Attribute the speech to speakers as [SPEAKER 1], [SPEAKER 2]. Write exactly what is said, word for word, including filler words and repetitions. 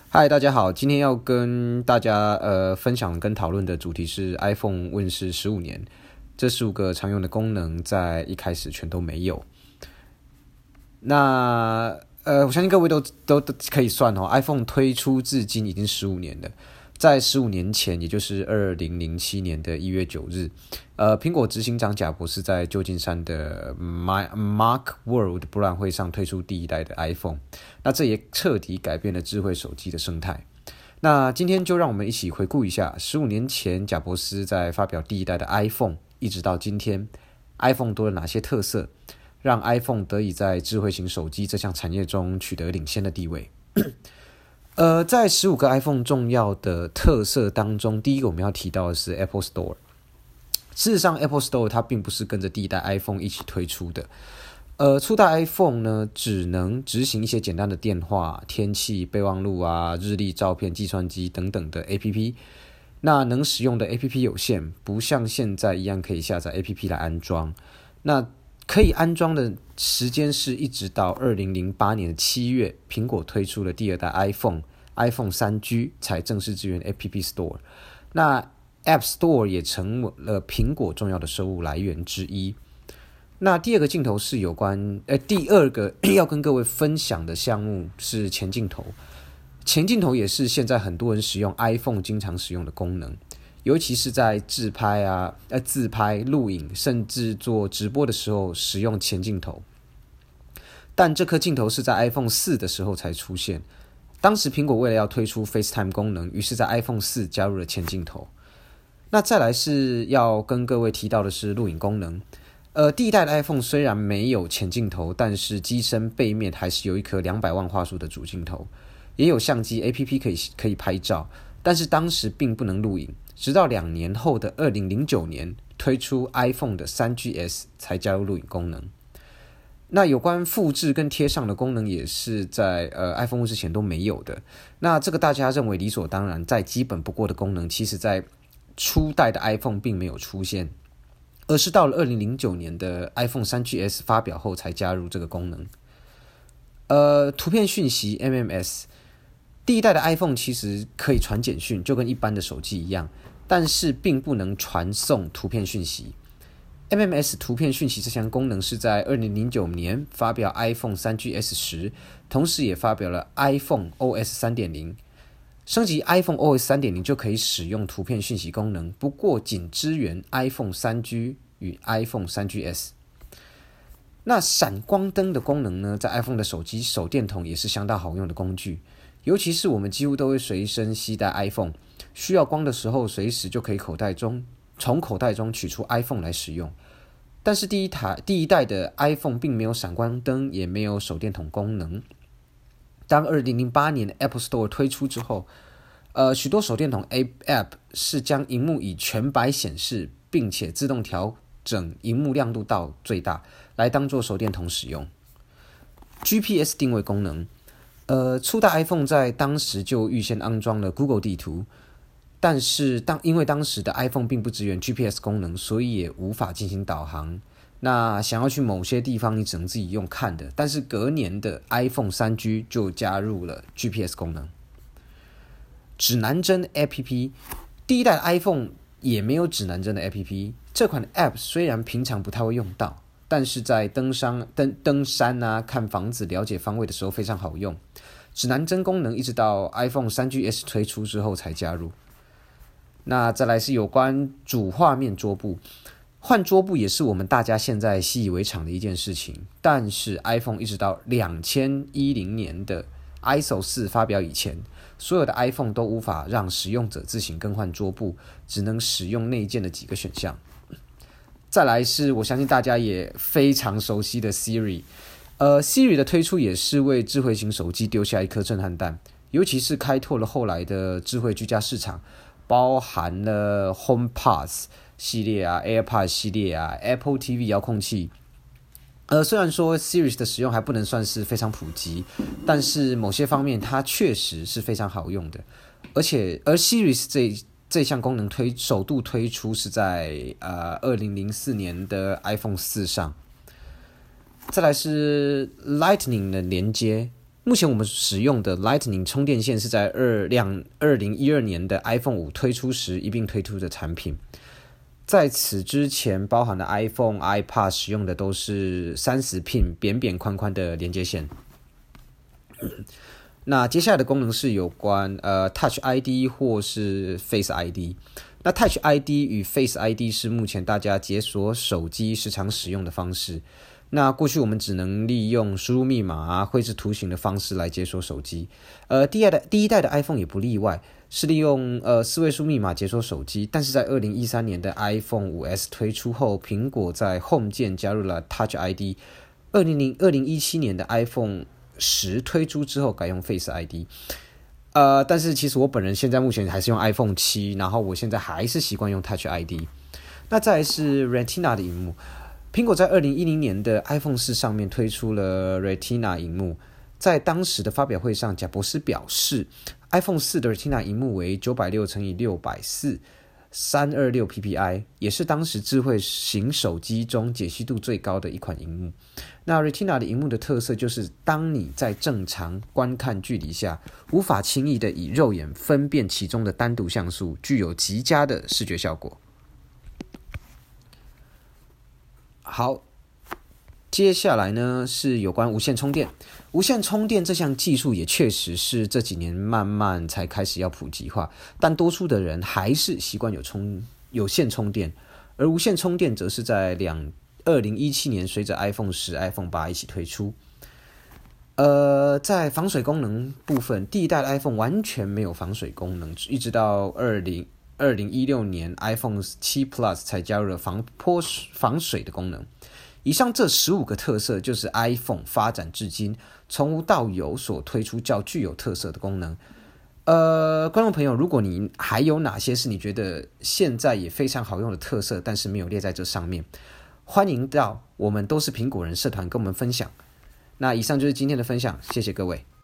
[SPEAKER 1] 嗨，大家好，今天要跟大家呃分享跟讨论的主题是 iPhone 问世十五年，这十五个常用的功能在一开始全都没有。那呃，我相信各位都都都可以算哦 ，iPhone 推出至今已经十五年了。在十五年前，也就是二零零七年的一月九日，呃，苹果执行长贾博士在旧金山的 Mac World 博览会上推出第一代的 iPhone， 那这也彻底改变了智慧手机的生态。那今天就让我们一起回顾一下十五年前贾博士在发表第一代的 iPhone， 一直到今天 iPhone 多了哪些特色，让 iPhone 得以在智慧型手机这项产业中取得领先的地位。呃，在十五个 iPhone 重要的特色当中，第一个我们要提到的是 Apple Store。事实上 Apple Store 它并不是跟着第一代 iPhone 一起推出的。呃，初代 iPhone 呢，只能执行一些简单的电话、天气、备忘录啊、日历、照片、计算机等等的 A P P。那能使用的 A P P 有限，不像现在一样可以下载 A P P 来安装。那可以安装的时间是一直到二零零八年的七月，苹果推出了第二代 iPhone iPhone 三 G 才正式支援 App Store。那 App Store 也成了苹果重要的收入来源之一。那第二个镜头是有关，呃，第二个要跟各位分享的项目是前镜头。前镜头也是现在很多人使用 iPhone 经常使用的功能，尤其是在自拍啊、呃自拍、录影，甚至做直播的时候使用前镜头。但这颗镜头是在 iPhone 四的时候才出现。当时苹果为了要推出 FaceTime 功能，于是在 iPhone 四加入了前镜头。那再来是要跟各位提到的是录影功能。呃，第一代的 iPhone 虽然没有前镜头，但是机身背面还是有一颗两百万画素的主镜头，也有相机 A P P 可以可以拍照，但是当时并不能录影。直到两年后的二零零九年推出 iPhone 的 三 G S 才加入录影功能。那有关复制跟贴上的功能也是在呃 iPhone 之前都没有的。那这个大家认为理所当然、再基本不过的功能，其实在初代的 iPhone 并没有出现，而是到了二零零九年的 iPhone 三 G S 发表后才加入这个功能。呃，图片讯息 M M S， 第一代的 iPhone 其实可以传简讯，就跟一般的手机一样，但是并不能传送图片讯息。M M S 图片讯息这项功能是在二零零九年发表 iPhone 三 G S 时，同时也发表了 iPhone O S 三点零。升级 iPhone O S 三点零 就可以使用图片讯息功能，不过仅支援 iPhone 三 G 与 iPhone 三 G S。那闪光灯的功能呢，在 iPhone 的手机手电筒也是相当好用的工具，尤其是我们几乎都会随身携带 iPhone， 需要光的时候随时就可以口袋中从口袋中取出 iPhone 来使用。但是第一台第一代的 iPhone 并没有闪光灯，也没有手电筒功能。当二零零八年 Apple Store 推出之后，呃，许多手电筒 App 是将萤幕以全白显示，并且自动调整萤幕亮度到最大，来当作手电筒使用。G P S 定位功能，呃，初代 iPhone 在当时就预先安装了 Google 地图，但是当因为当时的 iPhone 并不支援 G P S 功能，所以也无法进行导航。那想要去某些地方，你只能自己用看的。但是隔年的 iPhone 三 G 就加入了 G P S 功能。指南针 A P P， 第一代的 iPhone 也没有指南针的 A P P。这款 App 虽然平常不太会用到，但是在登山、登登山啊、看房子、了解方位的时候非常好用。指南针功能一直到 iPhone 三 G S 推出之后才加入。那再来是有关主画面桌布。换桌布也是我们大家现在习以为常的一件事情，但是 iPhone 一直到二零一零年的 I S O 四发表以前，所有的 iPhone 都无法让使用者自行更换桌布，只能使用内建的几个选项。再来是我相信大家也非常熟悉的 Siri， 呃 Siri 的推出也是为智慧型手机丢下一颗震撼弹，尤其是开拓了后来的智慧居家市场，包含了 HomePod系列啊、AirPods 系列啊、Apple T V 遥控器。呃，虽然说 Siri 的使用还不能算是非常普及，但是某些方面它确实是非常好用的。而且，而 Siri 这这项功能推首度推出是在呃二零零四年的 iPhone 四上。再来是 Lightning 的连接， 目前我们使用的 Lightning 充电线是在二零一二年的 iPhone 五推出时一并推出的产品。在此之前，包含了 iPhone、iPad 使用的都是三十 pin 扁扁宽宽的连接线。那接下来的功能是有关呃 Touch I D 或是 Face I D。那 Touch I D 与 Face I D 是目前大家解锁手机时常使用的方式。那过去我们只能利用输入密码啊、绘制图形的方式来解锁手机。呃，第一代的第一代的 iPhone 也不例外，是利用呃四位数密码解锁手机。但是在二零一三年的 iPhone 五 S 推出后，苹果在 Home 键加入了 Touch I D。二零一七年的 iPhone 十推出之后改用 Face I D。呃，但是其实我本人现在目前还是用 iPhone 七，然后我现在还是习惯用 Touch I D。那再来是 Retina 的萤幕，苹果在二零一零年的 iPhone 四上面推出了 Retina 萤幕。在当时的发表会上，贾伯斯表示 iPhone 四的 Retina 萤幕为九百六乘以六百四三百二十六 P P I， 也是当时智慧型手机中解析度最高的一款萤幕。那 Retina 的萤幕的特色就是，当你在正常观看距离下，无法轻易的以肉眼分辨其中的单独像素，具有极佳的视觉效果。好，接下来呢是有关无线充电。无线充电这项技术也确实是这几年慢慢才开始要普及化，但多数的人还是习惯有充有线充电，而无线充电则是在二零一七年随着 iPhone 十、iPhone 八一起推出。呃，在防水功能部分，第一代的 iPhone 完全没有防水功能，一直到二零一六年 iPhone 七 Plus 才加入了防泼防水的功能。以上这十五个特色就是 iPhone 发展至今从无到有所推出较具有特色的功能。呃，观众朋友，如果你还有哪些是你觉得现在也非常好用的特色，但是没有列在这上面，欢迎到我们都是苹果人社团跟我们分享。那以上就是今天的分享，谢谢各位。